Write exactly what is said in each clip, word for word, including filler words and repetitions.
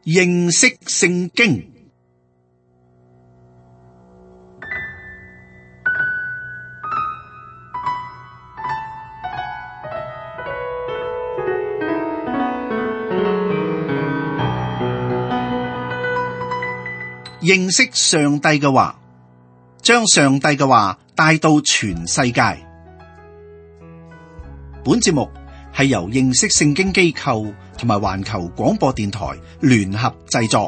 認識聖經。認識上帝嘅話，將上帝嘅話帶到全世界。本節目係由認識聖經機構同埋環球廣播電台聯合製作。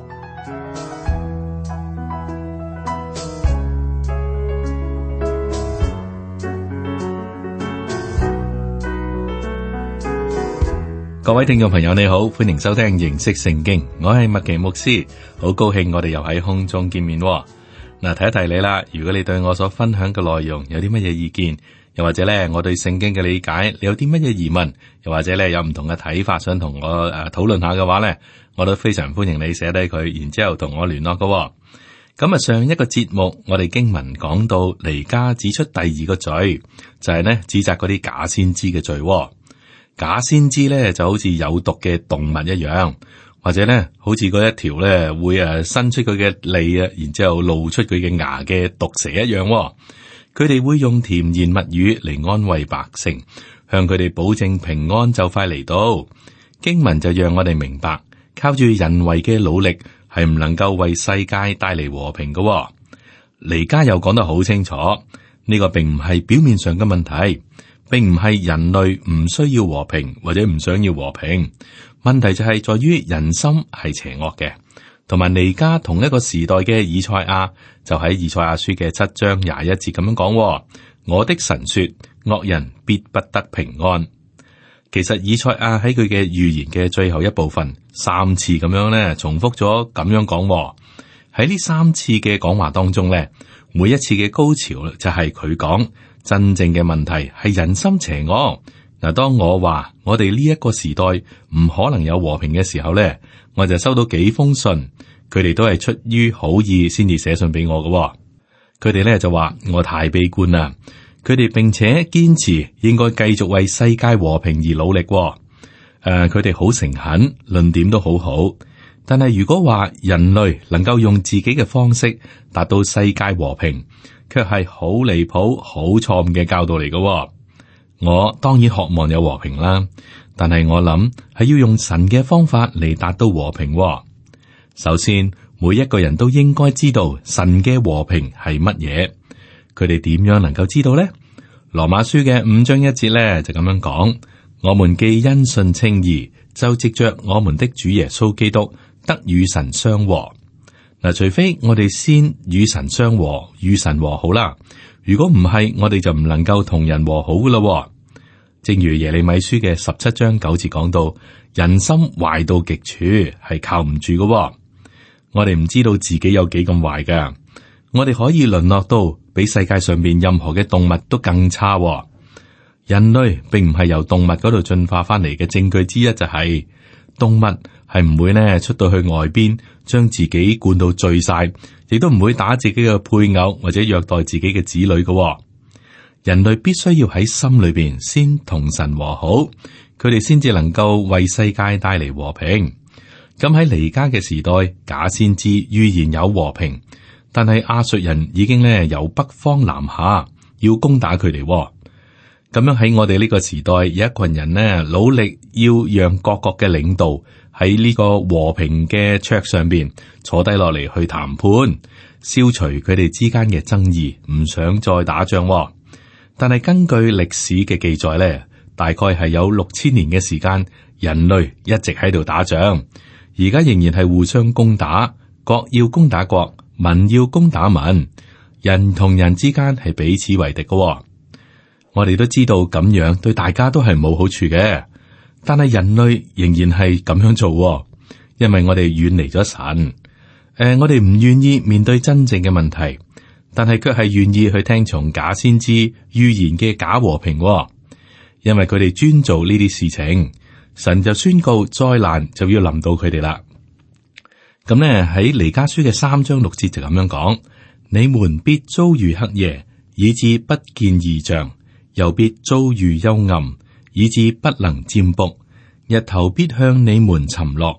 各位聽眾朋友你好，歡迎收聽認識聖經，我係麥奇牧師，好高興我哋又喺空中見面。嗱，提一提你啦，如果你對我所分享嘅內容有啲乜嘢意見，又或者咧我對聖經嘅理解，你有啲乜嘢疑問，又或者咧有唔同嘅睇法，想同我誒討論下嘅話咧，我都非常歡迎你寫低佢，然之後同我聯絡嘅。咁啊，上一個節目我哋經文講到彌迦指出第二個罪，就係咧指責嗰啲假先知嘅罪。假先知咧就好似有毒嘅動物一樣，或者咧好似嗰一條咧會誒伸出佢嘅脷啊，然之後露出佢嘅牙嘅毒蛇一樣。佢哋會用甜言蜜語嚟安慰百姓，向佢哋保證平安就快嚟到。經文就讓我哋明白，靠住人為嘅努力係唔能夠為世界帶嚟和平嘅。彌迦又講得好清楚，呢個並唔係表面上嘅問題。並唔係人類唔需要和平或者唔想要和平，問題就係在於人心係邪惡嘅。同埋彌迦同一個時代嘅以賽亞就喺以賽亞書嘅七章廿一節咁樣講：我的神說，惡人必不得平安。其實以賽亞喺佢嘅預言嘅最後一部分三次咁樣咧重複咗咁樣講。喺呢三次嘅講話當中咧，每一次嘅高潮就係佢講。真正嘅問題係人心邪惡。嗱，當我話我哋呢一個時代唔可能有和平嘅時候咧，我就收到幾封信，佢哋都係出於好意先至寫信俾我嘅。佢哋咧就話我太悲觀啦，佢哋並且堅持應該繼續為世界和平而努力。誒、呃，佢哋好誠懇，論點都好好。但係如果話人類能夠用自己嘅方式達到世界和平，卻係好離譜、好錯誤嘅教導嚟嘅。我當然渴望有和平啦，但係我諗係要用神嘅方法嚟達到和平。首先，每一個人都應該知道神嘅和平係乜嘢。佢哋點樣能夠知道呢？羅馬書嘅五章一節咧就咁樣講：我們既因信稱義，就藉着我們的主耶穌基督得與神相和。嗱，除非我哋先與神相和，與神和好啦。如果唔係，我哋就唔能夠同人和好噶啦。正如耶利米書嘅十七章九節講到，人心壞到極處，係靠唔住噶。我哋唔知道自己有幾咁壞噶，我哋可以淪落到比世界上邊任何嘅動物都更差。人類並唔係由動物嗰度進化翻嚟嘅證據之一就係、是、動物係唔會呢出到去外邊。將自己灌到醉晒，亦都唔會打自己嘅配偶或者虐待自己嘅子女嘅。人類必須要喺心裏邊先同神和好，佢哋先至能夠為世界帶嚟和平。咁喺彌迦嘅時代，假先知預言有和平，但係亞述人已經咧由北方南下，要攻打佢哋。咁樣喺我哋呢個時代，有一群人呢努力要讓各國嘅領導喺呢個和平嘅桌上邊坐低落嚟去談判，消除佢哋之間嘅爭議，唔想再打仗。但係根據歷史嘅記載咧，大概係有六千年嘅時間，人類一直喺度打仗，而家仍然係互相攻打，國要攻打國，民要攻打民，人同人之間係彼此為敵嘅。我哋都知道咁樣對大家都係冇好處嘅。但係人類仍然係咁樣做，因為我哋遠離咗神。誒、呃，我哋唔願意面對真正嘅問題，但係卻係願意去聽從假先知預言嘅假和平。因為佢哋專做呢啲事情，神就宣告災難就要臨到佢哋啦。咁呢，喺彌迦書嘅三章六節就咁樣講：你們必遭遇黑夜，以致不見異象；又必遭遇幽暗，以致不能占卜。日頭必向你們沉落，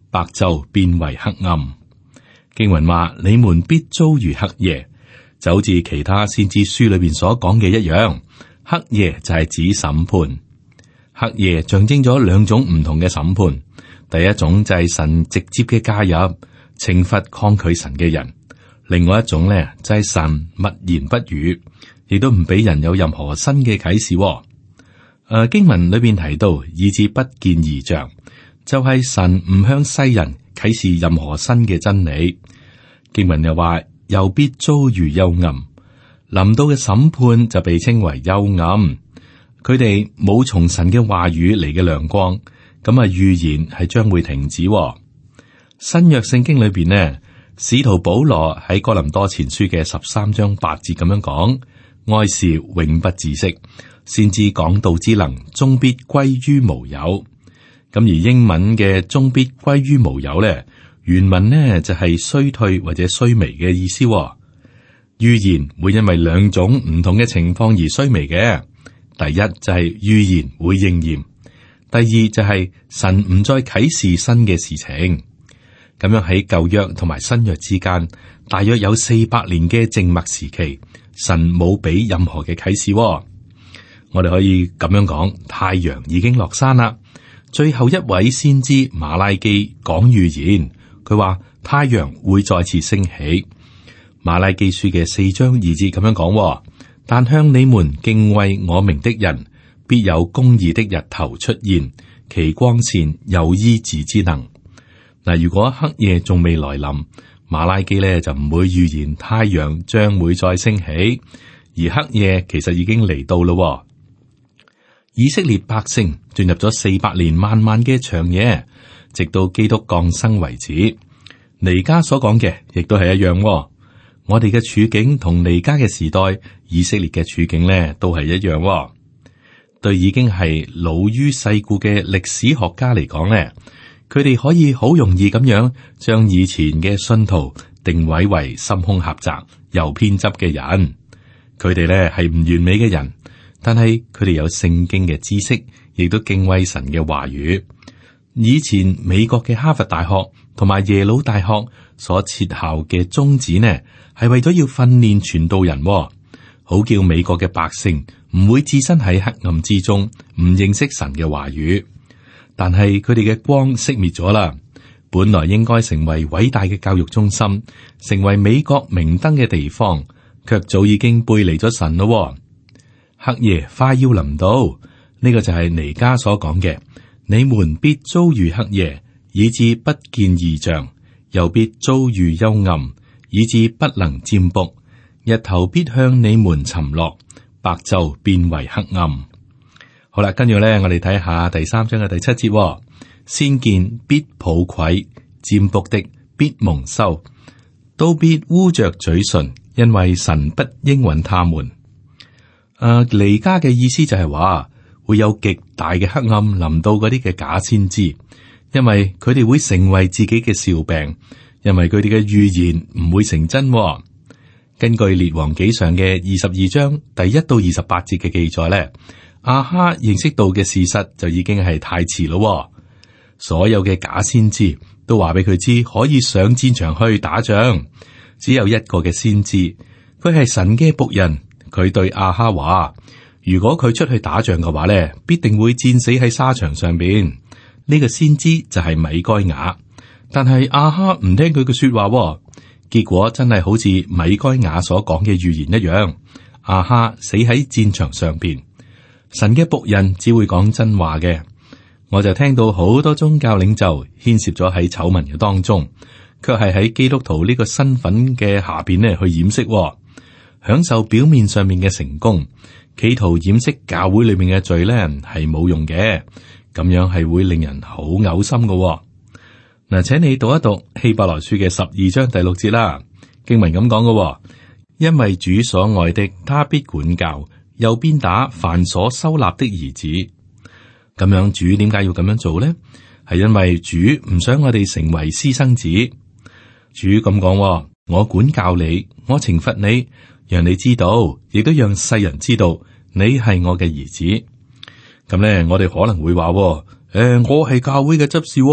白晝變為黑暗。經文話：你們必遭遇黑夜，就好似其他先知書裏邊所講嘅一樣。黑夜就係指審判，黑夜象徵咗兩種唔同嘅審判。第一種就係神直接嘅介入，懲罰抗拒神嘅人；另外一種咧就係神默言不語，亦都唔俾人有任何新嘅啟示。誒、呃，經文裏邊提到，以致不見異象，就係、是、神唔向世人啟示任何新嘅真理。經文又話，又必遭遇幽暗，臨到嘅審判就被稱為幽暗。佢哋冇從神嘅話語嚟嘅亮光，咁啊預言係將會停止。新約聖經裏邊呢，使徒保羅喺哥林多前書嘅十三章八節咁樣講：愛是永不止息，先知講道之能，終必歸於無有。咁而英文嘅終必歸於無有咧，原文呢就係衰退或者衰微嘅意思。預言會因為兩種唔同嘅情況而衰微嘅。第一就係預言會應驗，第二就係神唔再啟示新嘅事情。咁樣喺舊約同埋新約之間，大約有四百年嘅靜默時期，神冇俾任何嘅啟示。我哋可以咁樣講，太陽已經落山啦。最後一位先知馬拉基講預言，佢話太陽會再次升起。馬拉基書嘅四章二節咁樣講：但向你們敬畏我名的人，必有公義的日頭出現，其光線有醫治之能。嗱，如果黑夜仲未來臨，馬拉基咧就唔會預言太陽將會再升起，而黑夜其實已經嚟到咯。以色列百姓進入咗四百年漫漫嘅長夜，直到基督降生為止。彌迦所講嘅亦都係一樣。我哋嘅處境同彌迦嘅時代，以色列嘅處境咧都係一樣。對已經係老於世故嘅歷史學家嚟講咧，佢哋可以好容易咁樣將以前嘅信徒定位為心胸狹窄又偏執嘅人。佢哋咧係唔完美嘅人，但係佢哋有聖經嘅知識，亦都敬畏神嘅話語。以前美國嘅哈佛大學同埋耶魯大學所設校嘅宗旨呢，係為咗要訓練傳道人，好叫美國嘅百姓唔會置身喺黑暗之中，唔認識神嘅話語。但係佢哋嘅光熄滅咗啦，本來應該成為偉大嘅教育中心，成為美國明燈嘅地方，卻早已經背離咗神咯。黑夜快要臨到，呢個就係彌迦所講嘅：你們必遭遇黑夜，以致不見異象；又必遭遇幽暗，以致不能占卜。日頭必向你們沉落，白晝變為黑暗。好啦，跟住咧，我哋睇下第三章嘅第七節：先見必抱愧，占卜的必蒙羞，都必污着嘴唇，因為神不應允他們。誒，彌迦嘅意思就係話會有極大嘅黑暗臨到嗰啲嘅假先知，因為佢哋會成為自己嘅笑柄，因為佢哋嘅預言唔會成真。根據列王紀上嘅二十二章第一到二十八節嘅記載咧，亞哈認識到嘅事實就已經係太遲咯。所有嘅假先知都話俾佢知可以上戰場去打仗，只有一個嘅先知，佢係神嘅僕人。佢對亞哈話：如果佢出去打仗嘅話咧，必定會戰死喺沙場上邊。呢個先知就係米該雅，但係亞哈唔聽佢嘅說話，結果真係好似米該雅所講嘅預言一樣，亞哈死喺戰場上邊。神嘅僕人只會講真話嘅。我就聽到好多宗教領袖牽涉咗喺醜聞嘅當中，卻係喺基督徒呢個身份嘅下邊咧去掩飾。享受表面上面嘅成功，企圖掩飾教會裏面嘅罪咧，係冇用嘅。咁樣係會令人好嘔心嘅。嗱，請你讀一讀希伯來書嘅十二章第六節啦。經文咁講嘅：因為主所愛的，他必管教，又鞭打凡所收納的兒子。咁樣主點解要咁樣做呢？係因為主唔想我哋成為私生子。主咁講：我管教你，我懲罰你。讓你知道，亦都讓世人知道你係我嘅兒子。咁咧，我哋可能會話：誒、呃，我係教會嘅執事，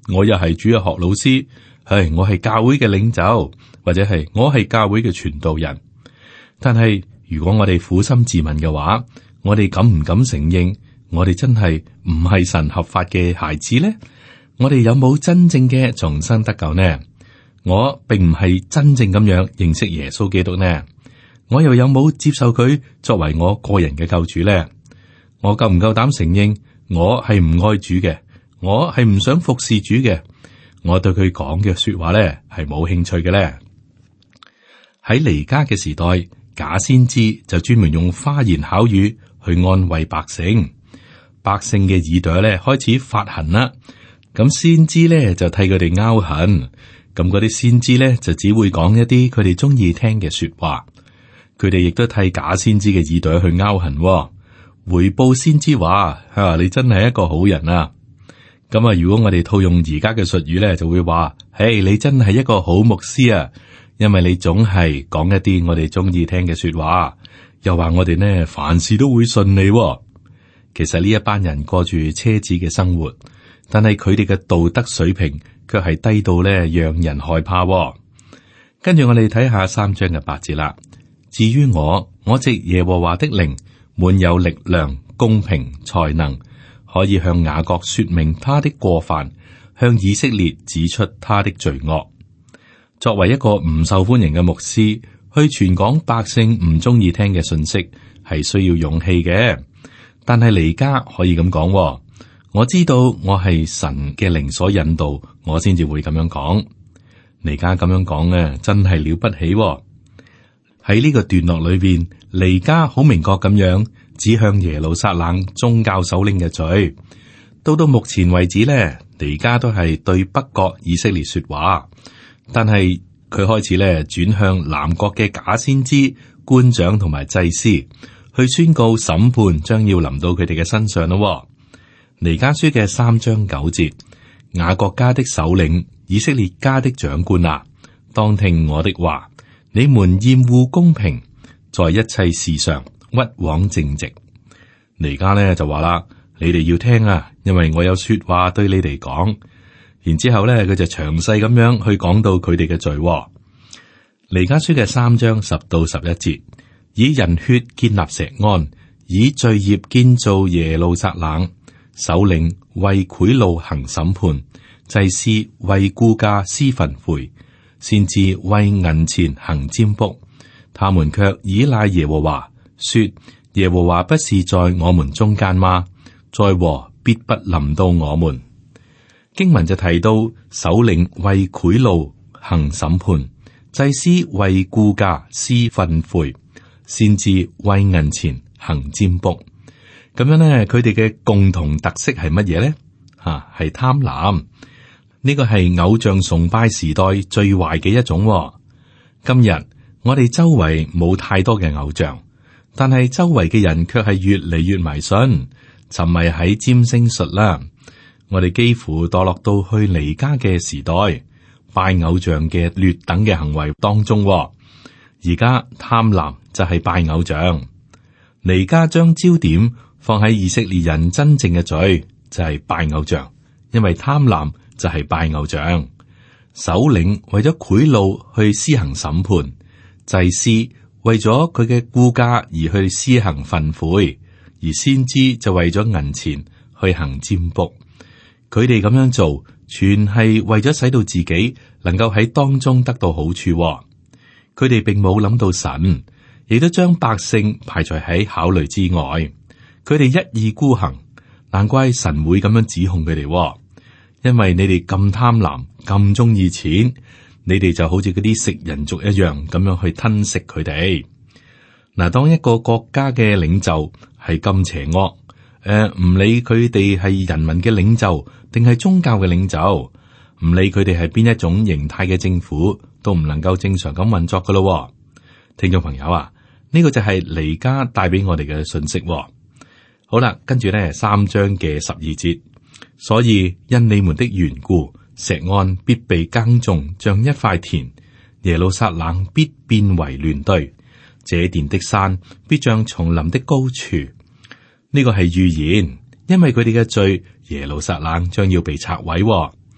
我又係主日學老師，係我係教會嘅領袖，或者係我係教會嘅傳道人。但係如果我哋苦心自問嘅話，我哋敢唔敢承認我哋真係唔係神合法嘅孩子呢？我哋有冇真正嘅重生得救呢？我並唔係真正咁樣認識耶穌基督呢？我又有冇接受佢作為我個人嘅救主呢？我夠唔夠膽承認我係唔愛主嘅？我係唔想服侍主嘅？我對佢講嘅說話咧係冇興趣嘅咧？喺彌迦嘅時代，假先知就專門用花言巧語去安慰百姓，百姓嘅耳朵咧開始發痕啦。咁先知咧就替佢哋拗痕，咁嗰啲先知咧就只會講一啲佢哋中意聽嘅說話。佢哋亦都替假先知嘅耳朵去拗痕，回報先知話：啊，你真係一個好人啊！咁啊，如果我哋套用而家嘅術語咧，就會話：嘿，你真係一個好牧師啊！因為你總係講一啲我哋中意聽嘅說話，又話我哋呢凡事都會順利。其實呢一班人過住奢侈嘅生活，但係佢哋嘅道德水平卻係低到咧讓人害怕。跟住我哋睇下三章嘅八節啦。至於我，我藉耶和華的靈，滿有力量、公平、才能，可以向雅各說明他的過犯，向以色列指出他的罪惡。作為一個唔受歡迎嘅牧師，去傳講百姓唔中意聽嘅信息，係需要勇氣嘅。但係彌迦可以咁講，我知道我係神嘅靈所引導，我先至會咁樣講。彌迦咁樣講咧，真係了不起。喺呢個段落裏邊，彌迦好明確咁樣指向耶路撒冷宗教首領嘅罪。到到目前為止咧，彌迦都係對北國以色列說話，但係佢開始咧轉向南國嘅假先知、官長同埋祭司，去宣告審判將要臨到佢哋嘅身上咯。彌迦書嘅三章九節，雅各家的首領、以色列家的長官啊，當聽我的話。你們厭惡公平，在一切事上屈枉正直。彌迦呢就話啦，你哋要聽啊，因為我有說話對你哋講。然之後咧，佢就詳細咁樣去講到佢哋嘅罪。彌迦書嘅三章十到十一節，以人血建立錫安，以罪孽建造耶路撒冷。首領為賄賂行審判，祭司為雇價施訓誨。先至為銀錢行占卜，他們卻倚賴耶和華，說耶和華不是在我們中間嗎？災禍必不臨到我們。經文就提到首領為賄賂行審判，祭司為雇價施訓誨，先至為銀錢行占卜。咁樣呢，佢哋嘅共同特色係乜嘢呢？吓、啊，係貪婪。呢個係偶像崇拜時代最壞嘅一種、哦。今日我哋周圍冇太多嘅偶像，但係周圍嘅人卻係越嚟越迷信，沉迷喺占星術啦。我哋幾乎墮落到去彌迦嘅時代，拜偶像嘅劣等嘅行為當中、哦。而家貪婪就係拜偶像，彌迦將焦點放喺以色列人真正嘅罪，就係、是、拜偶像，因為貪婪。就係拜偶像，首領為咗賄賂去施行審判，祭司為咗佢嘅雇價而去施行訓誨，而先知就為咗銀錢去行占卜。佢哋咁樣做，全係為咗使到自己能夠喺當中得到好處。佢哋並冇諗到神，亦都將百姓排除喺考慮之外。佢哋一意孤行，難怪神會咁樣指控佢哋。因為你哋咁貪婪，咁中意錢，你哋就好似嗰啲食人族一樣咁樣去吞食佢哋。嗱，當一個國家嘅領袖係咁邪惡，誒、呃，唔理佢哋係人民嘅領袖定係宗教嘅領袖，唔理佢哋係邊一種形態嘅政府，都唔能夠正常咁運作噶咯。聽眾朋友啊，呢、這個就係彌迦帶俾我哋嘅信息。好啦，跟住咧三章嘅十二節。所以因你們的緣故，錫安必被耕種，像一塊田；耶路撒冷必變為亂堆，這殿的山必像叢林的高處。呢個係預言，因為佢哋嘅罪，耶路撒冷將要被拆毀。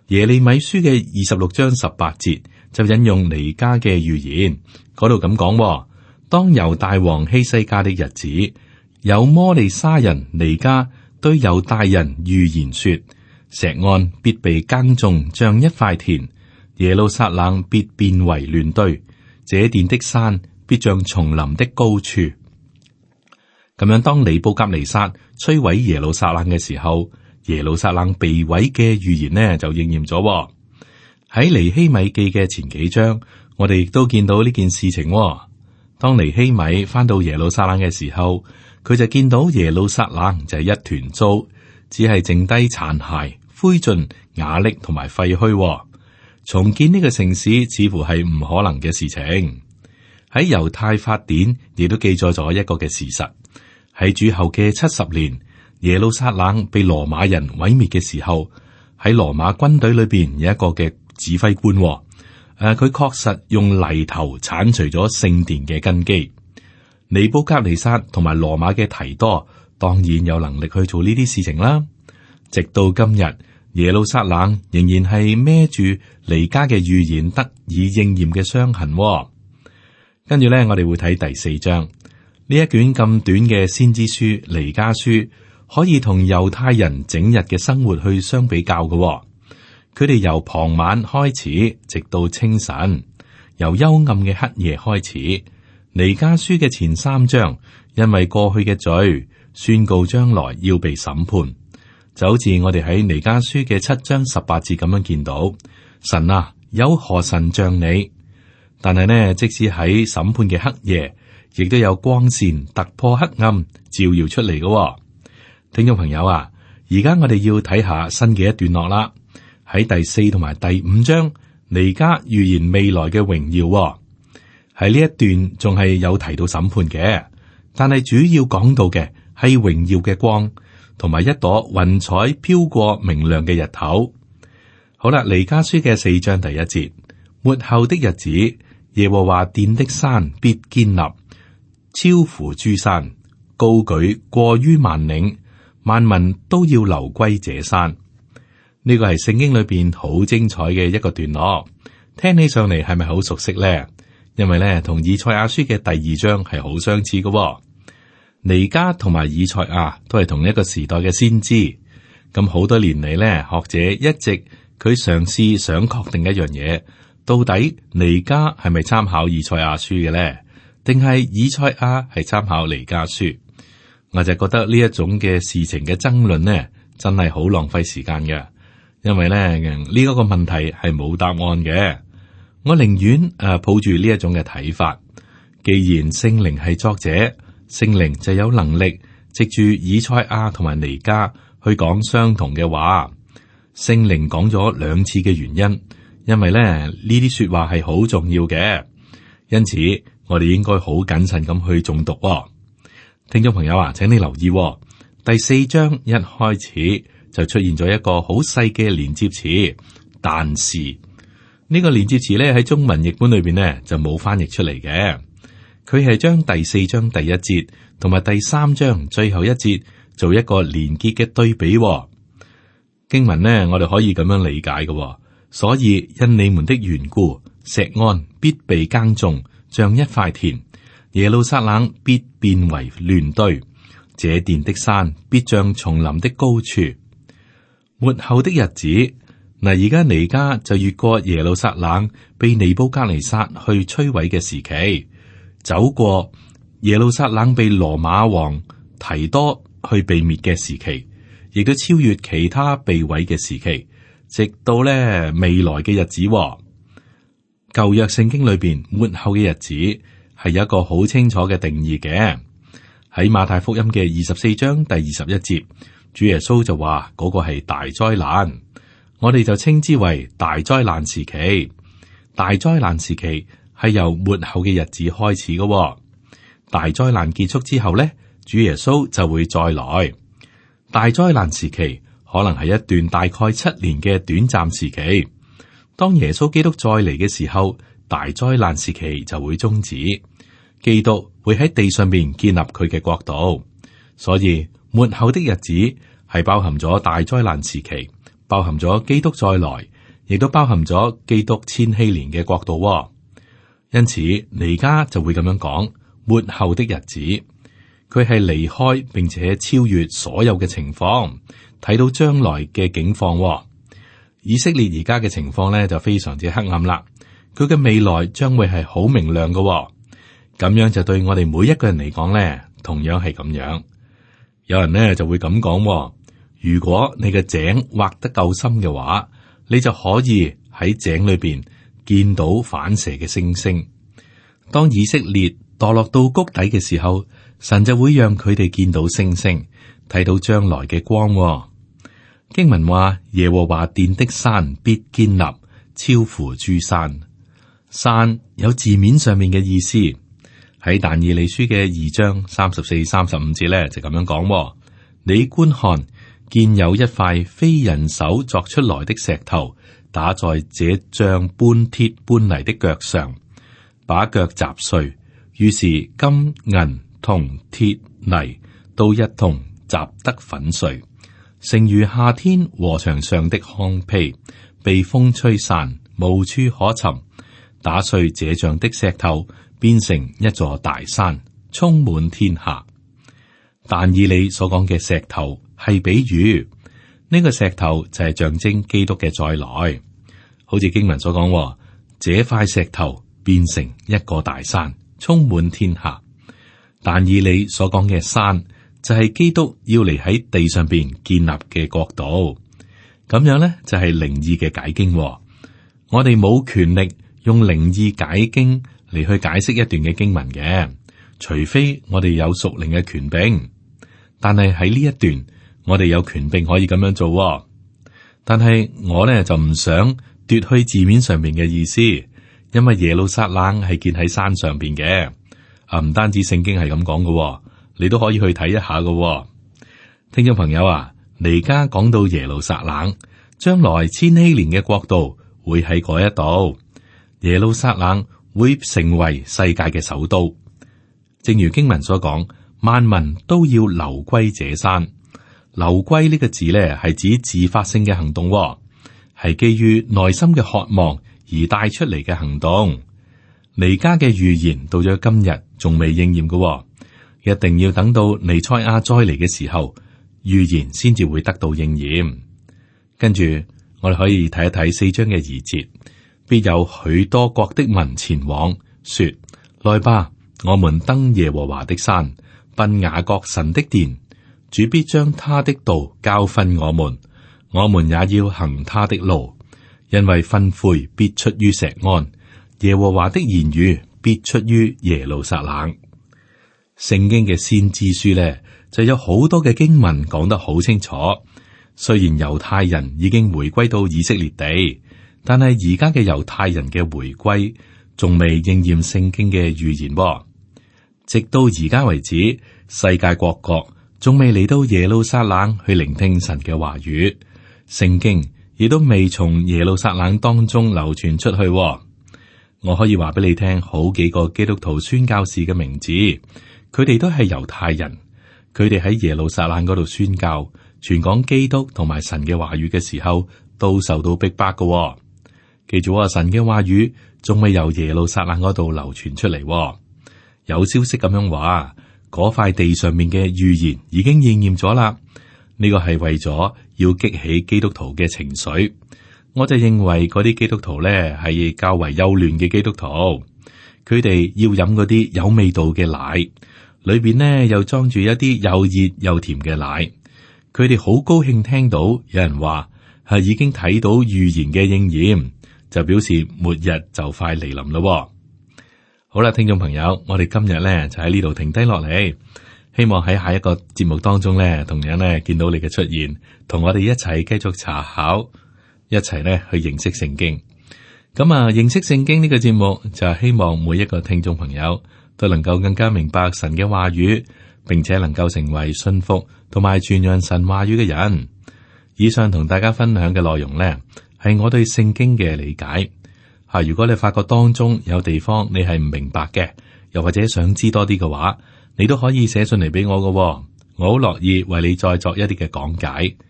耶利米書嘅二十六章十八節就引用彌迦嘅預言，嗰度咁講：當猶大王希西家的日子，有摩利沙人彌迦對猶大人預言說：錫安必被耕種，像一塊田；耶路撒冷必變為亂堆，這殿的山必像叢林的高處。咁樣，當尼布甲尼撒摧毀耶路撒冷嘅時候，耶路撒冷被毀嘅預言呢就應驗咗。喺尼希米記嘅前幾章，我哋亦都見到呢件事情。當尼希米翻到耶路撒冷嘅時候，佢就見到耶路撒冷就係一團糟，只係剩低殘骸、灰燼、瓦礫同埋廢墟。重建呢個城市似乎係唔可能嘅事情。喺猶太法典亦都記載咗一個嘅事實。喺主後嘅七十年，耶路撒冷被羅馬人毀滅嘅時候，喺羅馬軍隊裏邊有一個嘅指揮官，誒、呃，佢確實用泥頭鏟除咗聖殿嘅根基。尼布甲尼撒同埋羅馬嘅提多當然有能力去做呢啲事情啦。直到今日，耶路撒冷仍然係孭住彌迦嘅預言得以應驗嘅傷痕。跟住咧，我哋會睇第四章。呢一卷咁短嘅先知書彌迦書，可以同猶太人整日嘅生活去相比較嘅。佢哋由傍晚開始，直到清晨，由幽暗嘅黑夜開始。彌迦書嘅前三章，因為過去嘅罪，宣告將來要被審判，就好似我哋喺彌迦書嘅七章十八節咁樣見到，神啊，有何神像你？但係呢，即使喺審判嘅黑夜，亦都有光線突破黑暗，照耀出嚟嘅。聽眾朋友啊，而家我哋要睇下新嘅一段落啦。喺第四同埋第五章，彌迦預言未來嘅榮耀。喺呢一段仲係有提到審判嘅，但係主要講到嘅係榮耀嘅光，同埋一朵雲彩飄過明亮嘅日頭。好啦，彌迦書嘅四章第一節，末後的日子，耶和華殿的山必堅立，超乎諸山，高舉過於萬嶺，萬民都要流歸這山。呢個係聖經裏邊好精彩嘅一個段落，聽起上嚟係咪好熟悉呢？因為咧同以賽亞書嘅第二章係好相似嘅。彌迦同埋以賽亞都係同一個時代嘅先知。咁好多年嚟咧，學者一直佢嘗試想確定一樣嘢，到底彌迦係咪參考以賽亞書嘅咧？定係以賽亞係參考彌迦書？我就覺得呢一種嘅事情嘅爭論呢，真係好浪費時間嘅。因為咧呢一個問題係冇答案嘅。我寧願誒抱住呢一種嘅睇法。既然聖靈係作者，聖靈就有能力藉住以賽亞同埋彌迦去講相同嘅話。聖靈講咗兩次嘅原因，因為咧呢啲說話係好重要嘅，因此我哋應該好謹慎咁去誦讀。聽眾朋友啊，請你留意第四章一開始就出現咗一個好細嘅連接詞，但是呢個連接詞咧喺中文譯本裏邊呢就冇翻譯出嚟嘅。佢係將第四章第一節同埋第三章最後一節做一個連結嘅對比。經文呢，我哋可以咁樣理解嘅。所以因你們的緣故，錫安必被耕種，像一塊田；耶路撒冷必變為亂堆，這殿的山必像叢林的高處。末後的日子，嗱，而家彌迦就越過耶路撒冷被尼布甲尼撒去摧毀嘅時期，走過耶路撒冷被羅馬王提多去被滅嘅時期，亦都超越其他被毀嘅時期，直到咧未來嘅日子。舊約聖經裏邊末後嘅日子係有一個好清楚嘅定義嘅。喺馬太福音嘅二十四章第二十一節，主耶穌就話嗰個係大災難，我哋就稱之為大災難時期。大災難時期係由末後嘅日子開始嘅。大災難結束之後咧，主耶穌就會再來。大災難時期可能係一段大概七年嘅短暫時期。當耶穌基督再嚟嘅時候，大災難時期就會終止，基督會喺地上面建立佢嘅國度。所以末後的日子係包含咗大災難時期，包含咗基督再來， 亦都包含咗基督千禧年嘅國度喎。因此，彌迦就會咁樣講：末後的日子，佢係離開並且超越所有嘅情況，睇到將來嘅境況喎。以色列而家嘅情況咧就非常之黑暗啦，佢嘅未來將會係好明亮嘅喎。咁樣就對我哋每一個人嚟講咧，同樣係咁樣。有人咧就會咁講喎：如果你嘅井挖得夠深嘅話，你就可以喺井裏邊見到反射嘅星星。當以色列墮落到谷底嘅時候，神就會讓佢哋見到星星，睇到將來嘅光喎。經文話：耶和華殿的山必堅立，超乎諸山。山有字面上面嘅意思。喺但以理書嘅二章三十四、三十五節咧，就咁樣講：你觀看，見有一塊非人手作出來的石頭，打在這像搬鐵搬泥的腳上，把腳砸碎。於是金銀銅鐵泥都一同砸得粉碎，成如夏天禾場上的糠秕，被風吹散，無處可尋。打碎這像的石頭，變成一座大山，充滿天下。但以理所講嘅石頭係比喻，呢、這個石頭就係象徵基督嘅再來。好似經文所講，這塊石頭變成一個大山，充滿天下。但以理所講嘅山就係基督要嚟喺地上邊建立嘅國度。咁樣呢，就係靈意嘅解經。我哋冇權力用靈意解經嚟去解釋一段嘅經文嘅，除非我哋有屬靈嘅權柄。但係喺呢一段，我哋有權柄可以咁樣做。但係我呢就唔想奪去字面上面嘅意思，因為耶路撒冷係建喺山上邊嘅。啊，唔單止聖經係咁講嘅，你都可以去睇一下嘅。聽眾朋友啊，彌迦講到耶路撒冷將來千禧年嘅國度會喺嗰一度，耶路撒冷會成為世界嘅首都。正如經文所講，萬民都要流歸這山。流歸呢個字咧，係指自發性嘅行動，係基於內心嘅渴望而帶出嚟嘅行動。彌迦嘅預言到咗今日仲未應驗嘅，一定要等到彌賽亞再嚟嘅時候，預言先至會得到應驗。跟住我哋可以睇一睇四章嘅二節，必有許多國的民前往，說：來吧，我們登耶和華的山，奔雅各神的殿。主必將他的道教訓我們，我們也要行他的路，因為訓誨必出於錫安，耶和華的言語必出於耶路撒冷。聖經嘅先知書呢，就有好多嘅經文講得好清楚。雖然猶太人已經回歸到以色列地，但係而家嘅猶太人嘅回歸仲未應驗聖經嘅預言。直到而家為止，世界各國仲未嚟到耶路撒冷去聆聽神嘅話語，聖經亦都未從耶路撒冷當中流傳出去。我可以話俾你聽，好幾個基督徒宣教士嘅名字，佢哋都係猶太人，佢哋喺耶路撒冷嗰度宣教，傳講基督同埋神嘅話語嘅時候，都受到逼迫嘅。記住啊，神嘅話語仲未由耶路撒冷嗰度流傳出嚟。有消息咁樣話，嗰塊地上面嘅預言已經應驗咗啦。呢個係為咗要激起基督徒嘅情緒。我就認為嗰啲基督徒咧係較為幼嫩嘅基督徒，佢哋要飲嗰啲有味道嘅奶，裏邊呢又裝住一啲又熱又甜嘅奶。佢哋好高興聽到有人話係已經睇到預言嘅應驗，就表示末日就快嚟臨咯。好啦，聽眾朋友，我哋今日咧就喺呢度停低落嚟，希望喺下一個節目當中咧，同樣咧見到你嘅出現，同我哋一齊繼續查考，一齊咧去認識聖經。咁啊，認識聖經呢個節目就係希望每一個聽眾朋友都能夠更加明白神嘅話語，並且能夠成為信服同埋傳揚神話語嘅人。以上同大家分享嘅內容呢，係我對聖經嘅理解。吓，如果你發覺當中有地方你係唔明白嘅，又或者想知多啲嘅話，你都可以寫信嚟俾我㗎，我好樂意為你再作一啲嘅講解。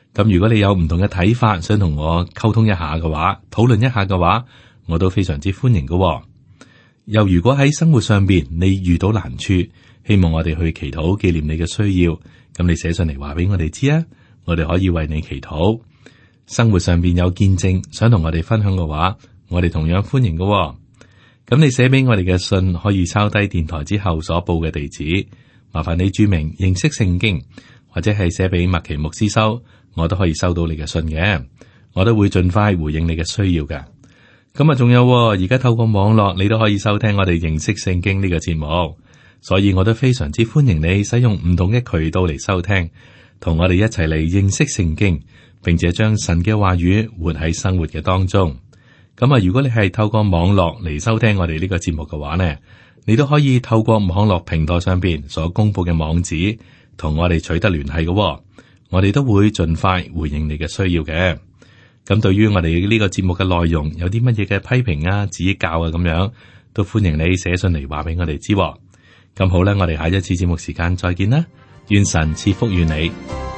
咁如果你有唔同嘅睇法，想同我溝通一下嘅話，討論一下嘅話，我都非常之歡迎嘅。又如果喺生活上邊你遇到難處，希望我哋去祈禱紀念你嘅需要，咁你寫上嚟話俾我哋知啊，我哋可以為你祈禱。生活上邊有見證想同我哋分享嘅話，我哋同樣歡迎嘅。咁你寫俾我哋嘅信可以抄低電台之後所報嘅地址，麻煩你注明認識聖經，或者係寫俾麥奇牧師收，我都可以收到你嘅信嘅，我都會盡快回應你嘅需要嘅。咁啊，仲有而家透過網絡，你都可以收聽我哋認識聖經呢個節目，所以我都非常之歡迎你使用唔同嘅渠道嚟收聽，同我哋一齊嚟認識聖經，並且將神嘅話語活喺生活嘅當中。咁啊，如果你係透過網絡嚟收聽我哋呢個節目嘅話呢，你都可以透過網絡平台上邊所公布嘅網址，同我哋取得聯繫嘅。我哋都會盡快回應你嘅需要嘅。咁對於我哋呢個節目嘅內容，有啲乜嘢嘅批評啊、指教啊咁樣，都歡迎你寫信嚟話俾我哋知。咁好啦，我哋下一次節目時間再見啦，願神賜福於你。